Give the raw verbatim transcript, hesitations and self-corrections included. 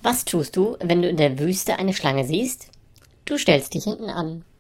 Was tust du, wenn du in der Wüste eine Schlange siehst? Du stellst dich hinten an.